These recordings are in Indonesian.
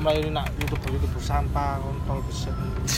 mlayu nak YouTube sampah kontol beset.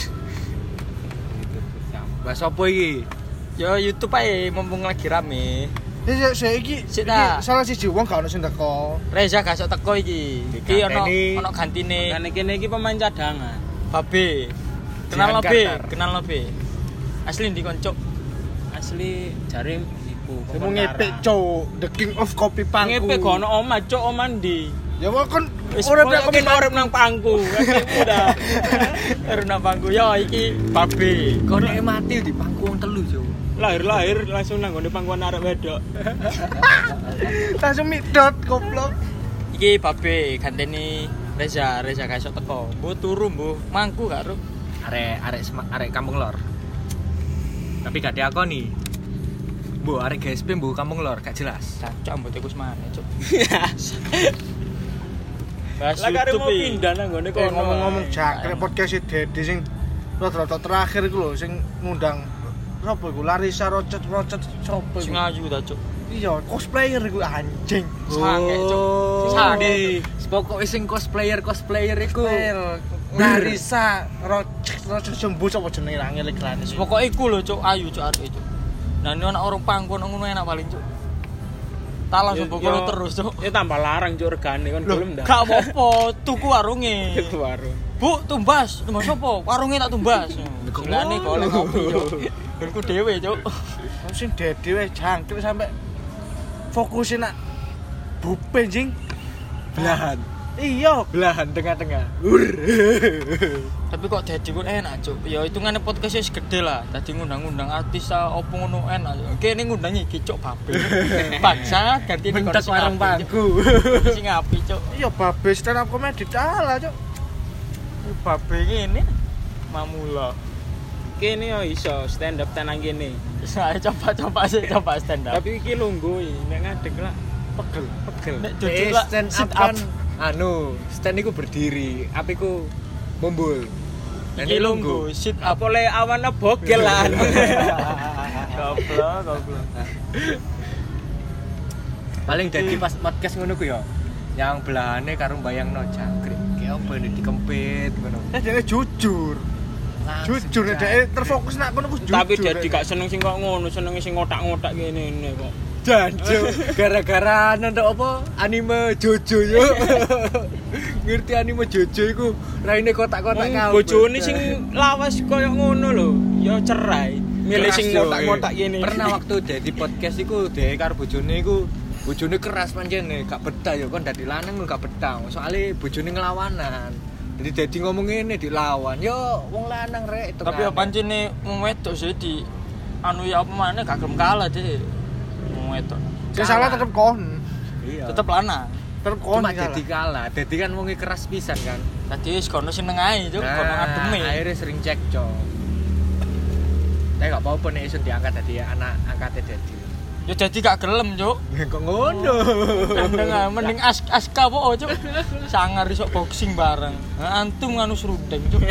Bahas apa iki? Yo YouTube ae mumpung lagi rame. Ya iki salah siji wong gak ono sing teko. Reza gak sok teko iki. Iki ono gantine. Kan kene iki pemain cadangan. Babe. Kenal lo be. Asli ndi koncok? Asli jare iku. Kamu ngepek cuk, the king of kopi pangku. Ngepek gono omah cuk, omah ndi? Ya kon Ora urip nang pangku. Udah. Urip nang pangku. Yo iki babe. Kok nek mati di pangku wong telu, Cuk. Lahir langsung nang gone pangkuan arek wedok. Langsung midot goblok. Iki babe gantene Reza gak iso teko. Mbok turu mbok mangku gak ro. Arek Kampung Lor. Tapi gak diakoni. Bu, arek GSP bu Kampung Lor gak jelas. Cacok mbok iku semane, Cuk. Lah kare mau pindah nang gone kono. Ngomong-ngomong jangkrik podcast Dedi sing rada terakhir iku lho sing ngundang sapa iku Larissa Rocet sapa iku? Sing ayu ta, Cuk. Iya, cosplayer iku anjing. Sange, Cuk. Sange. Pokoke sing cosplayer iku Larissa Rocet sembuh sapa jenenge ra ngelik-lane. Pokoke iku lho, Cuk, ayu Cuk arek, Cuk. Nah, ini ana orang pangku ngono enak paling, Cuk. Tak langsung bokolo terus, Cuk. Ya tambah larang Cuk regane kon belum ndak. Gak apa-apa, tuku warunge. Tuku warung. Bu, tumbas sapa? Warunge tak tumbas. Gilane golek kopi, Cuk. Berku dhewe, Cuk. Sing Dedi wis jangkrik sampe fokusin nak bupe jing belahan. Iya, Belahan tengah-tengah. Tapi kok Dedi ku enak, Cuk. Ya hitungane podcast wis gede lah. Dadi ngundang-undang artis opo ngono enak. Kene ngundang iki Cuk babe. Bangsa ganti ning Bentek warung pangku. Sing apik, Cuk. iya babe stand up comedy kalah, Cuk. Babe ngene mamula. Kene yo iso stand up tenan kene. Saya coba stand up. Tapi iki lungguh nek ngadeg lah pegel. Nek jujur lah stand up kan stand iku berdiri, apiku mumbul. Iki lungguh sit up Apa le awan bogel lah. goblok. Paling dadi pas podcast ngono ku ya. Yang belahane karo bayangno jangkrik. Ki opo dikempit ngono. Dene jujur. Jujur nek terfokus nak kono ku jujur. Tapi jadi gak seneng sing kok ngono, seneng sing ngotak-ngotak ngene kok. Janjo gara-gara nonton apa anime Jojo yo. Ngerti anime Jojo iku raine kotak-kotak kabeh. Bojone sing lawas koyo ngono lho, ya cerai. Milih sing ngotak-ngotak ngene. Pernah waktu dadi podcast iku dhewe karo bojone iku bojone keras pancene, gak betah yo kon dadi lanang gak betah. Soale bojone nglawanan. Jadi ngomong ngene dilawan. Yo wong lanang rek itu. Tapi ya pancene wong wedok sih di anu ya apa maneh gak gelem kalah deh. Wong wedok. Sing salah tetep kon. Iya. Tetep lanang. Tetep kon. Cuma dadi kalah. Dadi kan wonge keras pisan kan. Dadi wis kono seneng ae, Cuk, kono ngademe. Akhirnya sering cekcok. Tapi gak apa-apa nek iso diangkat dadi anak angkate dadi. Ya dadi gak gelem, Cuk. Kok ngono. Mending aska po, Cuk. Sangar iso boxing bareng. Antum nganu serundeng, Cuk.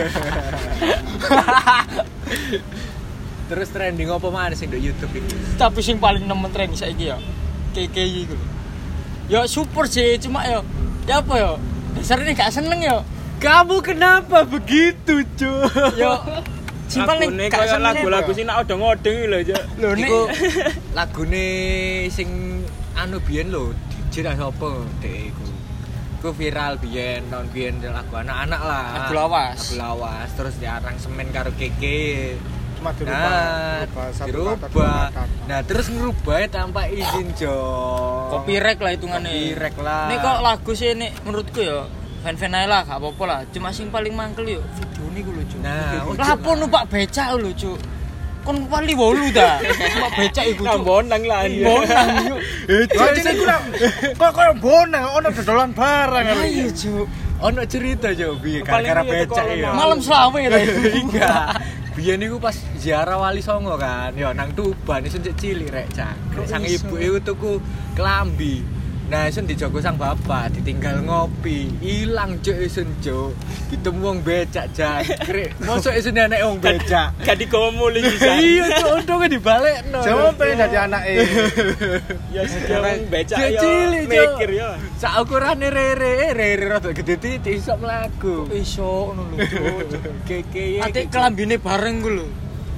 Terus trending apa mana sing di YouTube iki? Tapi sing paling nemen tren saiki ya KKI iku. Ya super sih, cuma ya apa ya? Dasarnya gak seneng ya. Kamu kenapa begitu, Cuk? Ya simpel nih gak seneng lagu-lagu sing nak odong-odong lho, Cuk. Lho Iku lagune sing anu biyen lho, DJ sapa dek iku. Iku viral biyen, tahun biyen lagu anak-anak lah. Lagu lawas. Terus diaransemen karo Keke. Cuma dirubah. Nah, terus ngerubah tanpa izin, Jok. Copyright lah hitungannya. Copyright lah. Nih kok lagu sih nih menurutku ya fan-fan aja lah, gak apa-apa lah. Cuma sing paling mangkel yo video ini gue lucu. Nah, lah apa numpak becak lucu. Kon paling wolu dah. Numpak becak iku. Bonang lah. Bonang yuk. Jadi iku lah. Kok koyo bonang ono dodolan barang. Ayo, Cuk. Ono cerita, Jok, biyen gara-gara becak ya. Malam selawe lah. Enggak. Biyen niku pas ziarah Wali Songo kan, ya nang Tuban iso cilik rek cangkrek. Sang ibu iku tuku klambi. Nah, isun dijogo sang bapak, ditinggal ngopi, ilang cuk isun cuk. Ditemu wong becak jangkrik. Mosok isun anak wong becak. Gak digawa muli bisa. Iya cuk, untunge dibalekno. Jawa pengen dadi anake. Ya sekarang becak Dia ya cilik, Cuk. mikir ya. Sak ukurane rere rada gede titik iso mlaku. Iso ngono lho. Keke. Ate kelambine bareng ku lho.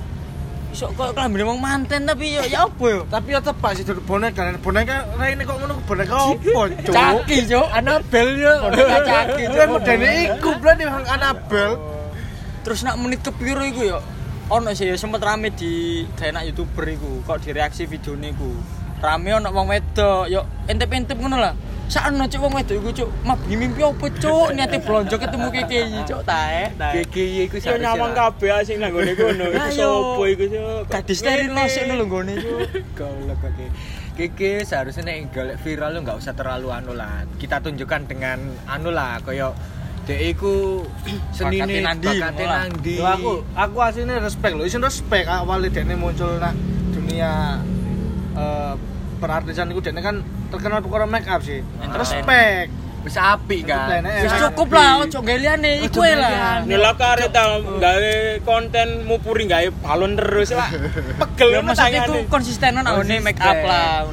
Iso kok kelambine wong manten tapi ya apa yo? Tapi ya tepak sih duduk boneka. Boneka Raine kok ngono boneka opo, Cuk? Caki, Cuk. Anabel yo. Boneka caki, Cuk. Modene iku blane Anabel. Terus nak menit kepiro iku yo? Ono sih ya sempet rame di kayak nak YouTuber iku, kok direaksi videone iku. Rame ono wong wedok, yo entep-entep ngono lah. Sakno cuk wong wedok iku cuk, mabni mimpi opo cuk, niate blonjo ketemu KKI cuk taek. Keke iku Yo nyawang kabeh sing nang gone kono. Iku sopo iku cuk? Gadis steril sik lho nggone cuk. Goblok Keke. Keke seharusnya nek golek viral lu enggak usah terlalu anu lah. Kita tunjukkan dengan anu lah koyo dek iku senine bakate nandi. Lho aku asline respect lho, isin respect awale dekne muncul nang dunia perartisan iku dekne kan terkenal perkara make up sih. Respect. Wis apik kan. Wis cukup lah, ojo gawe liyane iku lah. Nela kare ta gawe konten mupuri gawe balon terus lah. Pegel Ya maksudnya tangane. iku konsistenan awone make up lah.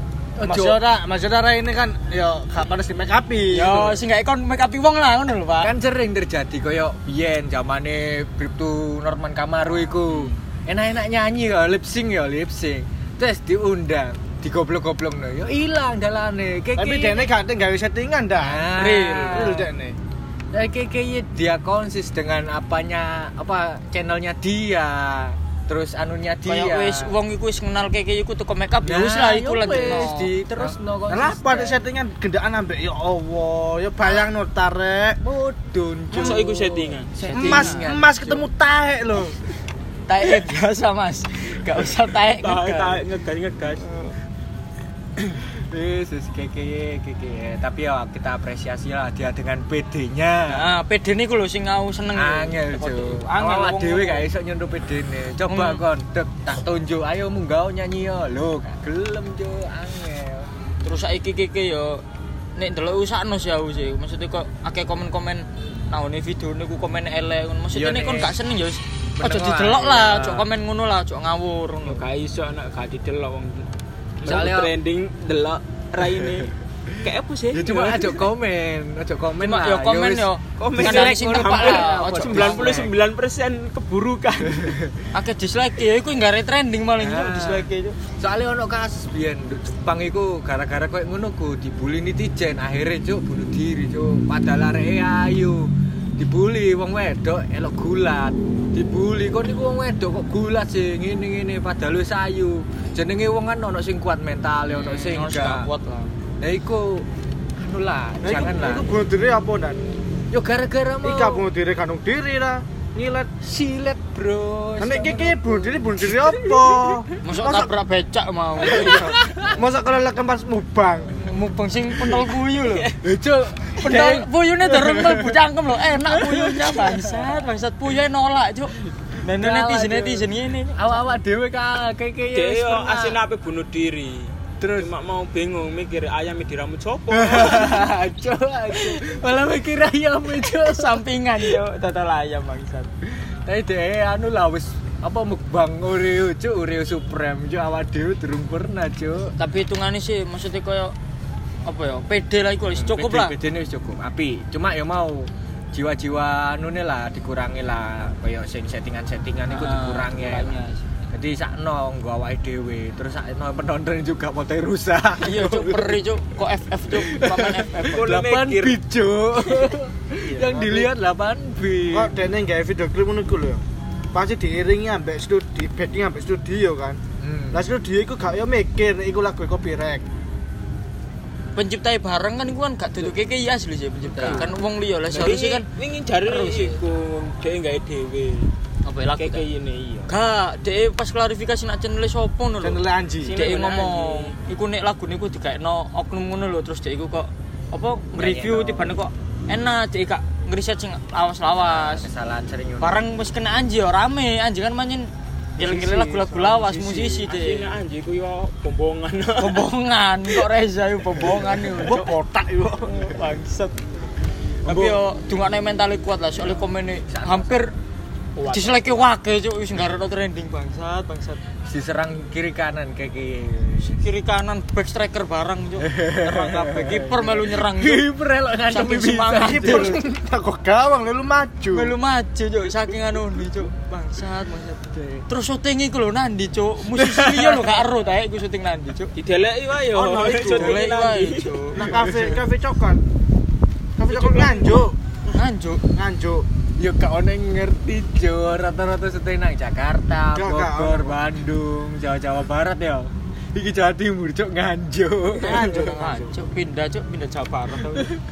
Maksudnya Raine kan ya gak panas di make up-i. Yo sing gak ikon make up wong lah ngono lho, Pak. Kan sering terjadi koyo biyen zamane Bribtu Norman Kamaru iku. Enak-enak nyanyi ya, lip sync. Terus diundang, digoblok-goblokno. Yo ilang dalane. Tapi dekne gak gawe settingan dah. Real dekne. Keke dia konsis dengan channelnya dia. Terus anunya dia. Kayak wis wong iku wis kenal KKI iku teko make up ya wis lah iku lanjutno. Wis diterusno kok. Lah pada settingan gendaan ambek ya Allah, ya bayangno tarek. Mudun. Masa iku settingan? Emas ketemu taek lho. Taek biasa, Mas. Gak usah taek. Taek ngegas. Wis keke. Tapi ya kita apresiasi lah dia dengan PD-nya. Nah, PD niku lho sing aku seneng. Angel, Cuk. Angel Awak dhewe gak iso nyentuh PD-ne. Coba kon tak tunjuk, ayo munggah nyanyi yo. Lho, gak gelem, Cuk. Angel. Terus saiki keke yo nek ndelok usakno sih aku sih. Maksudnya kok akeh komen-komen nang video niku komen elek ngono. Maksudnya nek kon gak seneng ya wis aja didelok lah, aja komen ngono lah, aja ngawur ngono. Gak iso nek gak didelok wong. Soalnya trending delok Raine. Kayak apa sih? Ya cuma aja komen Cuma lah. yo komen yo. Komen Kan dislike sing ngono tepak hampir lah, aja 99% keburukan. akeh dislike ya iku nggare trending malah dislike itu. Soalnya ono kasus biyen Jepang iku gara-gara koyo ngono ku dibully netizen, akhirnya Cuk bunuh diri, Cuk. Padahal areke ayu. Dibully wong wedok elok gulat. Dibully kok niku wong wedok kok gulat sih ngene-ngene padahal wis ayu. Jenenge wong kan ono sing kuat mental, ono sing enggak kuat lah. Nah iku anu lah, janganlah. Iku bunuh diri apa dan? Yo gara-gara mau. Ika bunuh diri kanung diri lah. Ngilet silet, Bro. nek keke bunuh diri apa? Mosok tabrak becak mau. Masa kelelekan pas mubang. Mubeng sing pentol puyu lho. Cuk, Pentol puyune dereng mlebu cangkem lho. Enak puyunya bangsat puyune nolak, Cuk. Dan netizen ngene. awak dhewe keke Dia yo asin ape bunuh diri. Terus mak mau bingung mikir ayam diramut sopo. Cuk. Malah mikir ayam itu Sampingan yo total ayam bangsat. Tapi dhewe anu lah wis apa mukbang Oreo, Cuk, Oreo Supreme, Cuk, awak dhewe durung pernah, Cuk. Tapi hitungane sih maksudnya koyo apa ya? PD lah iku wis cukup lah. PD-ne wis cukup. Api, cuma ya mau jiwa-jiwa anune lah dikurangi lah, koyo sing settingan-settingan iku dikurangi ya. Jadi sakno nggo awake dhewe, terus sakno penonton juga motoe rusak. Iya, Cuk, peri, Cuk. Kok FF, Cuk. Paman FF. 8 bit, Cuk. Yang dilihat 8 bit. Kok dene gawe video klip ngono iku lho. Pasti diiringi ambek studio, backing ambek studio kan. Lah studio iku gak yo mikir nek iku lagu copyright. Pencipta bareng kan iku kan gak duduk keke ya asli sih pencipta. Kan wong liya lah seharusnya kan wingi jare iku dhek gawe dhewe. apa lagu kayak ini iya. Gak, dhek pas klarifikasi nak channel sopo ngono lho. Channel Anji. Dhek ngomong, iku nek lagune iku digaekno oknum ngono lho, terus dhek iku kok apa review tibane kok enak, dhek gak ngriset sing lawas-lawas. Kesalahan sering. Bareng wis kena Anji ya rame, Anji kan manjen Ngiling-ngiling lagu-lagu lawas musisi Asine deh. anjing ku yo bombongan. Bombongan kok Reza yo bombongan yo. Mbok botak yo. Bangsat. Tapi yo dungane mentale kuat lah soalnya komene hampir diseleke wake cuk wis nggareno trending bangsat. Diserang kiri kanan kayak Kiri kanan back striker barang cuk. Nyerang kabeh kiper melu nyerang cuk. kiper elok ngantem Saking bisa. semangat Kiper tak kok gawang lu maju. Melu maju cuk saking anu nih cuk. Bangsat. Terus syuting iku lho nandi cuk. Musisi liya lho gak ero ta iku syuting nandi cuk. Dideleki wae yo. Ono iku. Delek wae cuk. Nang kafe coklat. Kafe coklat nganjuk. Nganjuk. Yo gak ono yang ngerti jo, rata-rata syuting nang Jakarta, Gak Bogor, ono. Bandung, Jawa Barat ya. Iki Jawa Timur cuk nganjuk. Nganjuk pindah Jawa Barat.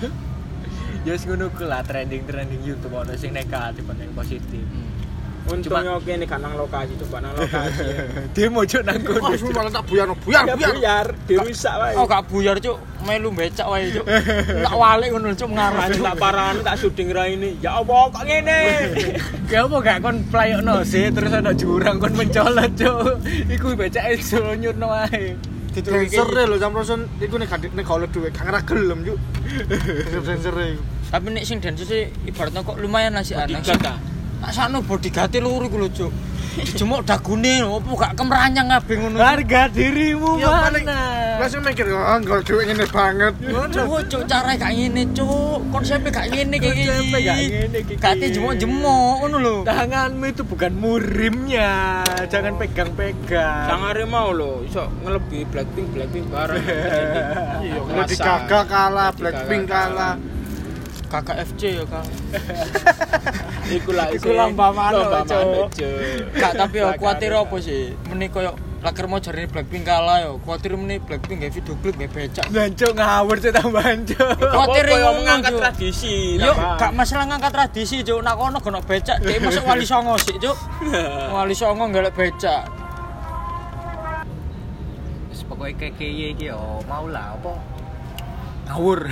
Ya wis ngono ku lah trending YouTube ono sing negatif ono yang positif. Untungnya kene gak nang lokasi, coba nang lokasi. Demo cuk nang kono. Wis malah tak buyar. Buyar, dirusak wae. Oh gak buyar cuk, melu becak wae cuk. Tak walik ngono cuk ngarep. Tak parani tak syuting ra ini. Ya Allah kok ngene. Gak apa gak kon playokno sih terus ana jurang kon mencolot cuk. Iku becake iso nyurno wae. Dancer lho jam roson iku nek golek duwe gak ngerah gelem yuk. Dancer iku. Tapi nek sing dance sih ibaratnya kok lumayan lah sih anak. Bodyguard ta? Tak sakno bodyguard loro iku lho cuk. Dijemuk dagune opo gak kemranyang kabeh ngono. Harga dirimu Ya paling mana? langsung mikir, oh gol duwe ngene banget. Cuk carane gak ngene cuk. Konsepe gak ngene iki. Konsepnya gak ngene iki. Gak dijemuk-jemuk ngono lho. Tanganmu itu bukan murimnya, jangan pegang-pegang. Sangare mau lho iso ngelebi Blackpink bareng. Iya, Lady Gaga kalah, Blackpink kalah. Kakak FC ya Kang. Iku lah Iku lambah manuk, Cuk. Cuk. Gak tapi yo kuwatir apa sih? Meni koyo laker mau jarine Blackpink kalah yo. Kuwatir meni Blackpink gawe video klip gawe becak. Jancuk ngawur sih tambahan cuk. Kuwatir Apa yang ngono, mengangkat Cuk. tradisi. Yo tambah. gak masalah ngangkat tradisi cuk. Nak kono gono becak, dhek masuk Wali Songo sik cuk. Wali Songo golek becak. Wis pokoke kekeye iki yo mau lah apa? Ngawur.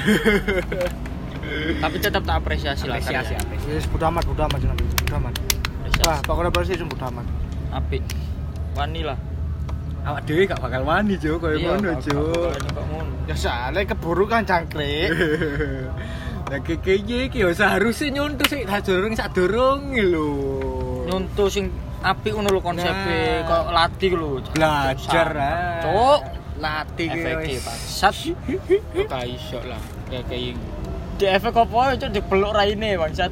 Tapi tetap tak apresiasi lah. Apresiasi. Wis budamat jenenge. Budamat. Wah, pokoknya bersih sing budamat. Apik. Wani lah. Awak dhewe gak bakal wani cuk koyo ngono cuk. Kok ngono. Ya soalnya keburu kan cangkrik. Lah kekeye iki yo seharusnya nyuntuh sik sadurunge lho. Nyuntuh sing apik ngono lho konsepe, kok latih lho. Belajar Cuk. latih ki Efektif, wis. Sat. Gak iso lah. Kayak Di efek apa cuk dipeluk raine bangsat.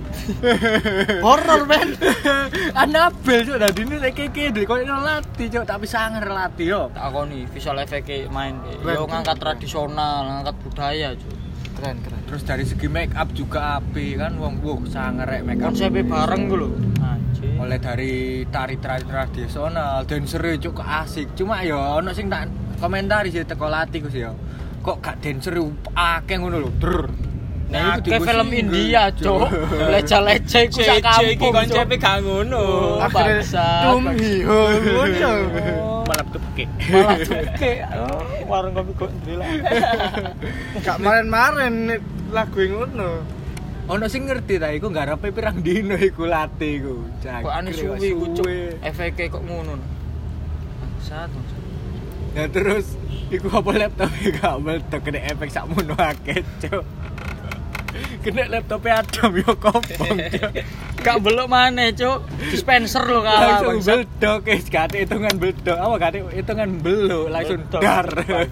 Horor men. Anabel cuk dadine nek keke ndek koyo latih cuk tapi sangar latih yo. Tak akoni visual efek main. Keren. Yo ngangkat tradisional, ngangkat budaya cuk. Keren. Terus dari segi make up juga apik kan wong sangar rek make up. Konsepe bareng ku lho. Anjir. Oleh dari tari-tari tradisional, dancer cuk kok asik. Cuma yo ono sing tak komentari sih teko latih ku sih yo. Kok gak dancer akeh ngono lho. Nah, itu kayak film India, cuk. Leca-leca iku sak kampung. iki konsepe gak ngono. Bangsat. Tumhiho ngono. Malah tepke. Malah tuke. Warung kopi kok ndrila. Gak maren-maren lagu ngono. Ono sing ngerti ta iku nggarepe pirang dino iku latih iku. Kok ane suwi iku cuk. Efeke kok ngono. Bangsat. Nah terus iku apa laptop gak meledak kena efek sakmono akeh cuk. Kena laptopnya Adam yo kopong cuk. Gak belok maneh, Cuk. Dispenser lho kalah Langsung bangsat. beldok guys, gak hitungan beldok. Apa gak hitungan belok langsung Beldok. dar.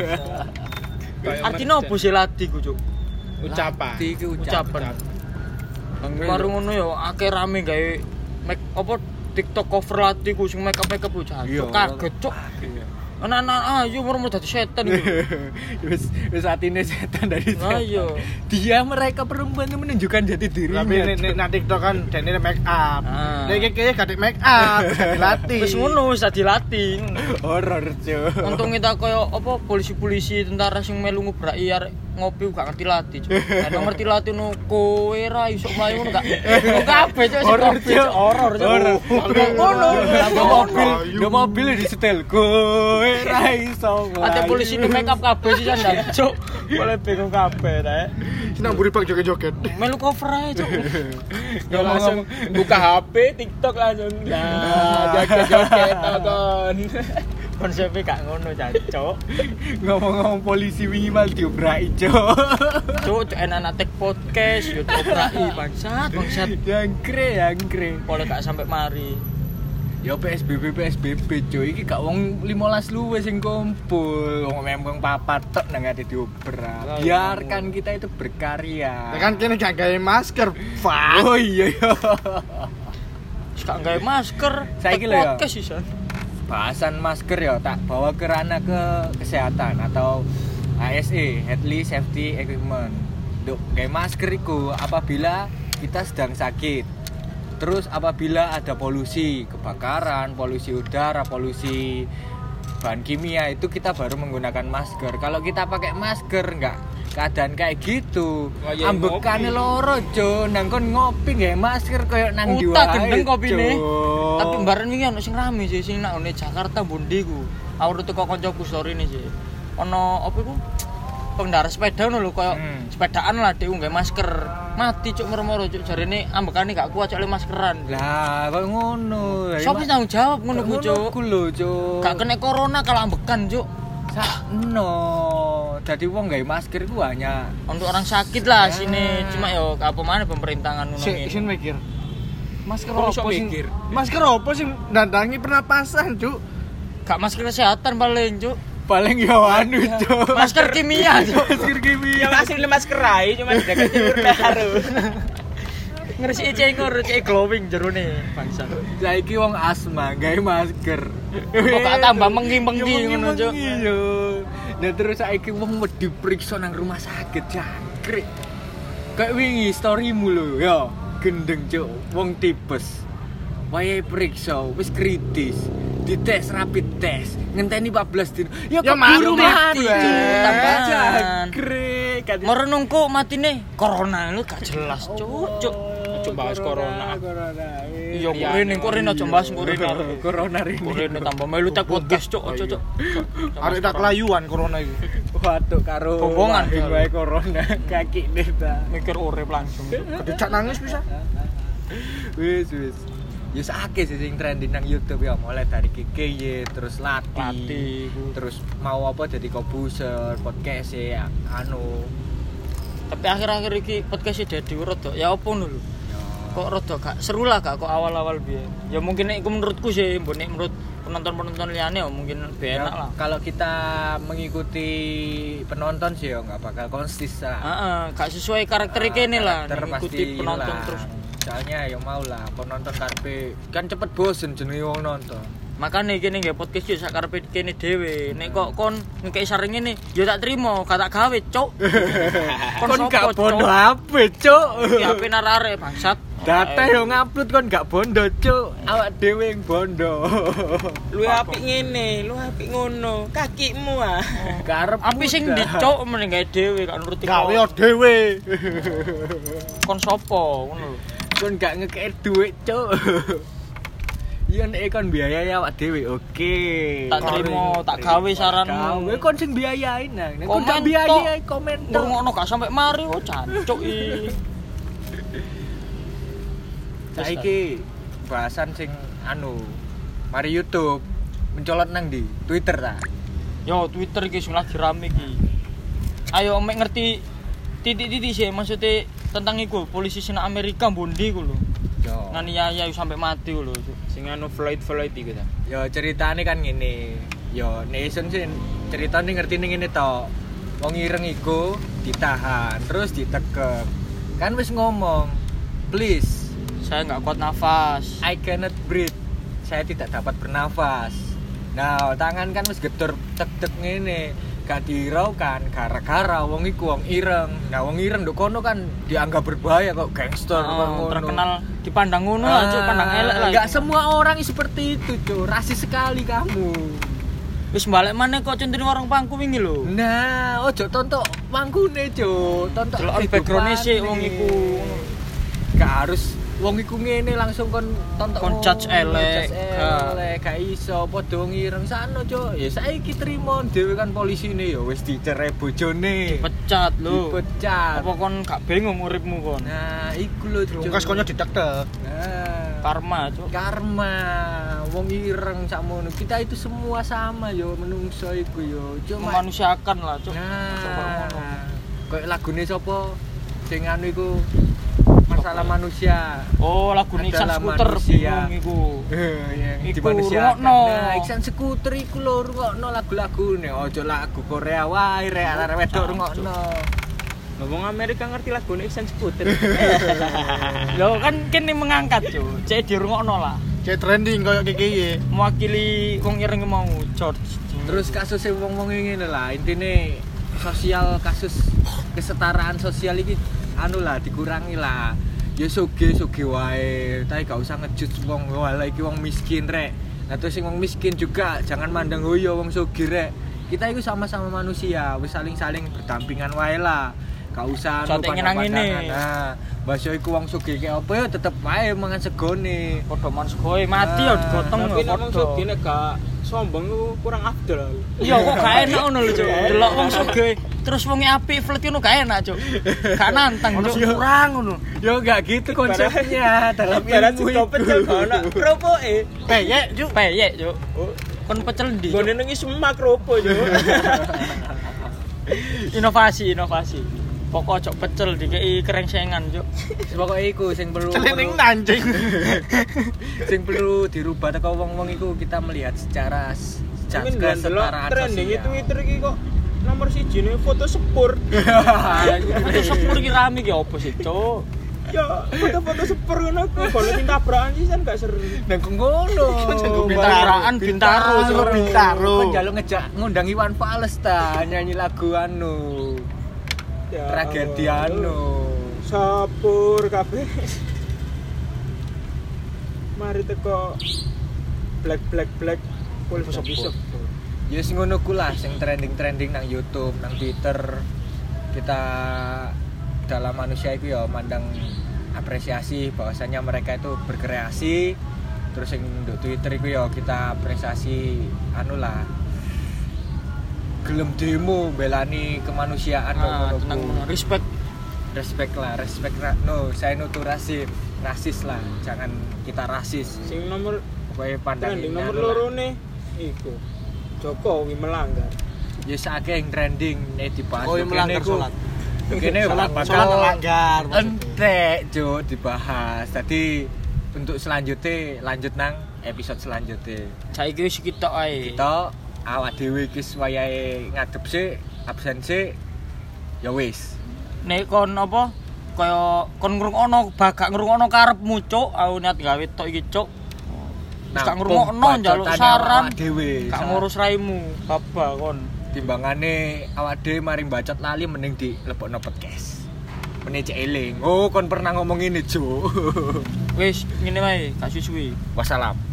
Artinya opo sih latih ku, Cuk? Ucapan. Latih iki Ucapan. Baru ngono yo akeh rame gawe make apa TikTok cover latih ku sing make up ku jancuk. Kaget, Cuk. Anak-anak ayo murmur dadi setan iku. Wis atine setan dari Nah, iya. Dia mereka perempuan itu menunjukkan jati dirinya. Tapi nek TikTok kan dene make up. Ah. Nek kayaknya gak make up, dilatih. Wis ngono wis dilatih. Horor cuk. Untung kita koyo apa polisi-polisi tentara sing melu ngubraki arek ngopi gak ngerti latih, Cuk. Nek ngerti latih no kowe ra iso mlayu ngono gak. Kok kabeh Cuk sing ngopi, Cuk. Horor, Cuk. Ngono. Mobil mobil disetel kowe ra iso. Ate polisi di make up kabeh sih sandal, Cuk. Boleh bingung kabeh ta. Nang buri bang joget-joget. Melu cover ae, Cuk. Ya langsung buka HP, TikTok langsung. Nah, joget-joget kon. Konsepnya gak ngono, Cuk. Ngomong-ngomong polisi wingi mal diobrak ijo. Cuk, enak-enak take podcast, yo diobrai bangsat. Jangkre. Boleh gak sampai mari. Ya PSBB cuy, iki gak wong 15 luwe sing kumpul. Wong memang papat tok nang ade diobrak. Biarkan kita itu berkarya. Ya kan kene gak gawe masker, Pak. Oh iya. Wis gak gawe masker. Saiki take lho ya. podcast isan. Bahasan masker ya tak bawa ke ranah ke kesehatan atau ASE, Healthy Safety Equipment. Duk, kayak masker itu apabila kita sedang sakit. Terus apabila ada polusi, kebakaran, polusi udara, polusi bahan kimia itu kita baru menggunakan masker. Kalau kita pakai masker enggak keadaan kayak gitu. Ambekane loro, Jo. Nang kon ngopi nggih masker koyo nang ndi wae. Utak gendeng kopine. Jo. Tapi mbaren wingi ono sing rame sih sing nang ngene Jakarta Bondi ku. Aku teko kancaku story ini sih. Ono apa iku? Pengendara sepeda ngono lho koyo sepedaan lah dhek nggae masker. Mati cuk moro-moro cuk jarene ambekane gak kuat cuk le maskeran. Lah, kok ngono. Sopo tanggung jawab ngono ku cuk? Ku lho, Cuk. Gak kena corona kalau ambekan cuk. Sakno. Dadi wong gawe masker ku hanya Untuk orang sakit lah sini. Cuma yo apa mana pemerintahan ngono ngene. Sing mikir. Masker Kok iso opo sing mikir? Masker opo sing nandangi pernapasan, Cuk? Gak masker kesehatan paling cuk. paling yo anu, Cuk. Masker kimia cuk. Masker kimia. Yang asli masker rai cuma dekat timur baru. Ngresiki cengor, cek glowing jerone bangsa. Saiki wong asma gawe masker. Kok gak tambah mengki-mengki ngono cuk. Iya. Nah terus saiki wong wedi diperiksa nang rumah sakit jangkrik. Kayak wingi storymu lho, ya. Gendeng cuk, wong tipes. Wayahe periksa wis kritis. Dites rapid test, ngenteni 14 dino. Ya keburu mati. Tambahan. Jangkrik. Merenungku matine corona lu gak jelas cuk. Coba bahas corona. Iya kok rene aja bahas Corona rene. Rene tambah melu tak podcast cuk aja cuk. Arek tak kelayuan corona iki. Waduh karo Bombongan wae corona kaki ta. Mikir urip langsung. Kedecak nangis bisa. Wis. Ya sakit sih sing trending nang YouTube ya, mulai dari KKY terus Lati, terus mau apa jadi Kobuser, podcast ya anu. Tapi akhir-akhir iki podcast Dedi rada ya opo ngono lho. Kok rada gak seru lah gak kok awal-awal biyen. Ya mungkin nek iku menurutku sih, mbone menurut penonton-penonton liyane ya mungkin lebih enak lah. Kalau kita mengikuti penonton sih ya enggak bakal konsisten. Heeh, gak sesuai karakter kene lah, mengikuti penonton terus. Soalnya ya mau lah penonton karpe kan cepet bosen jenenge wong nonton. Makane kene nggih podcast yo sak karepe kene dhewe. Nek kok kon ngekeki saring ngene, yo tak trimo, gak tak gawe, cuk. Kon gak bondo HP, cuk. Ya HP narare bangsat. Data yo ngupload kon gak bondo, cuk. Awak dhewe yang bondo. Lu apik ngene, lu apik ngono. Kakimu ah. Karep Api sing dicuk meneh gawe dhewe gak nuruti Gawe dhewe. kon sapa ngono lho. kon gak ngekek duit, cuk. Iya nek kon biayai awak dhewe, oke. Tak trimo, tak gawe saranmu. Gawe kon sing biayain nang. Nek kon Komen gak biayai komen tok. Ngurungokno gak sampe mari kok jancuk iki. Saiki bahasan sing anu mari YouTube mencolot nang di Twitter ta. Yo Twitter iki sing lagi rame iki. Ayo mek ngerti titik-titik sih maksudnya tentang iku polisi sing Amerika Bondi ku lho. Yo. Nganiaya sampai mati ku lho. Sing anu Floyd iku ta. Yo ceritane kan ngene. Yo Nation sih ceritane ngertine ngene to. Wong ireng iku ditahan, terus ditekek. Kan wis ngomong, "Please, Saya nggak kuat nafas. I cannot breathe. Saya tidak dapat bernafas." Nah, tangan kan wis gedor tek-tek ngene. Gak diraukan gara-gara wong iku wong ireng. Nah, wong ireng nduk kono kan dianggap berbahaya kok gangster kok ngono. Terkenal dipandang ngono lah, Cuk, pandang elek lah. Enggak semua orang seperti itu, Cuk. Rasis sekali kamu. Wis balik maneh kok centene warung pangku wingi lho. Nah, ojo tontok mangkune, Cuk. Tontok Delok background-e sih wong iku. Gak harus wong iku ngene langsung kon tonton Kon judge elek. gak iso padha wong ireng sano cuk ya saiki trimo dhewe kan polisine ya wis dicerai bojone Pecat lho. dipecat Apa kon gak bingung uripmu kon? nah iku lho cuk Kas konyo ditek-tek. nah Karma, Cuk. karma wong ireng sakmono kita itu semua sama yo menungso iku yo cuma Memanusiakan lah, Cuk. nah kayak lagune sapa sing anu iku masalah manusia Oh, lagu Iksan Adalah Skuter manusia. bingung iku. di Iku manusia rungokno. nah Iksan Skuter iku lho rungokno lagu-lagune ojo lagu Korea wae rek arek wedok rungokno Ngomong Amerika ngerti lagu Iksan Skuter. Loh kan kene mengangkat, Cuk. Cek dirungokno lah. Kayak trending koyo kiki. Mewakili wong ireng mau George. terus kasusnya wong-wong ngene lah intine sosial kasus kesetaraan sosial iki anu lah dikurangi lah ya soge wae tapi gak usah ngejudge wong wala iki wong miskin rek nah terus sing wong miskin juga jangan mandang hoyo wong soge rek kita itu sama-sama manusia wis saling-saling berdampingan wae lah gak usah Sote ngenang-ngene. nah bahasa iku wong soge kayak apa ya tetep wae mangan segone Padha man segoe mati ya digotong Tapi ya nek wong padha. sugih nek gak sombong iku kurang afdol. Iya kok gak enak ngono lho, Cuk. Delok wong sugih terus wonge apik flirt ngono gak enak, Cuk. Gak nantang, Cuk. Kurang ngono. yo gak gitu konsepnya dalam Ibarat ilmu sing pecel itu. gak ono kropoke. Peyek, Cuk. Peyek, Cuk. Oh, Kon pecel ndi? Cuk? gone nang semak kropo yo. Inovasi. Pokok cok pecel dikei kerengsengan, Cuk. Pokoknya iku sing perlu Celining nanjing. sing perlu dirubah teko wong-wong iku kita melihat secara Tapi ndelok kesetaraan trending sosial. Twitter iki kok nomor 1 ne foto sepur. Foto sepur ki rame ki opo sih, Cuk? Ya, foto-foto sepur ngono ku kalau sing tabrakan sih kan gak seru. Nang ngono. Bintaro, Cuk. Bintaro. Kan jaluk ngejak ngundang Iwan Fals ta nyanyi lagu anu. Ya, Tragedi anu. Sepur kabeh. Mari teko black full Sepur. Ya sing ngono ku lah sing trending nang YouTube, nang Twitter. Kita dalam manusia itu ya mandang apresiasi bahwasanya mereka itu berkreasi. Terus sing nduk Twitter iku ya kita apresiasi anu lah. Gelem demo belani kemanusiaan Tenang, respect. respect no saya nutu rasis lah jangan kita rasis Sing nomor pokoknya pandangin trending nomor loro ne iku Jokowi melanggar. ya sakit yang trending dibahas Oh, melanggar sholat. kene Sholat bakal melanggar. entek jo dibahas tadi untuk selanjutnya lanjut nang episode selanjutnya Saiki wis kita ae. kita awak dhewe iki wayahe ngadep sik absen sik ya wis Nek kon apa kaya kon ngrungokno bagak ngrungokno karepmu, Cuk. Aku niat gawe tok iki, Cuk. Gak ngrungokno njaluk saran. dhewe Gak ngurus raimu, baba kon. timbangane awak dhewe mari bacot lali mending dilebokno podcast meneh cek eling oh kon pernah ngomong ini Jo Wis ngene wae, gak suwi-suwi. wassalam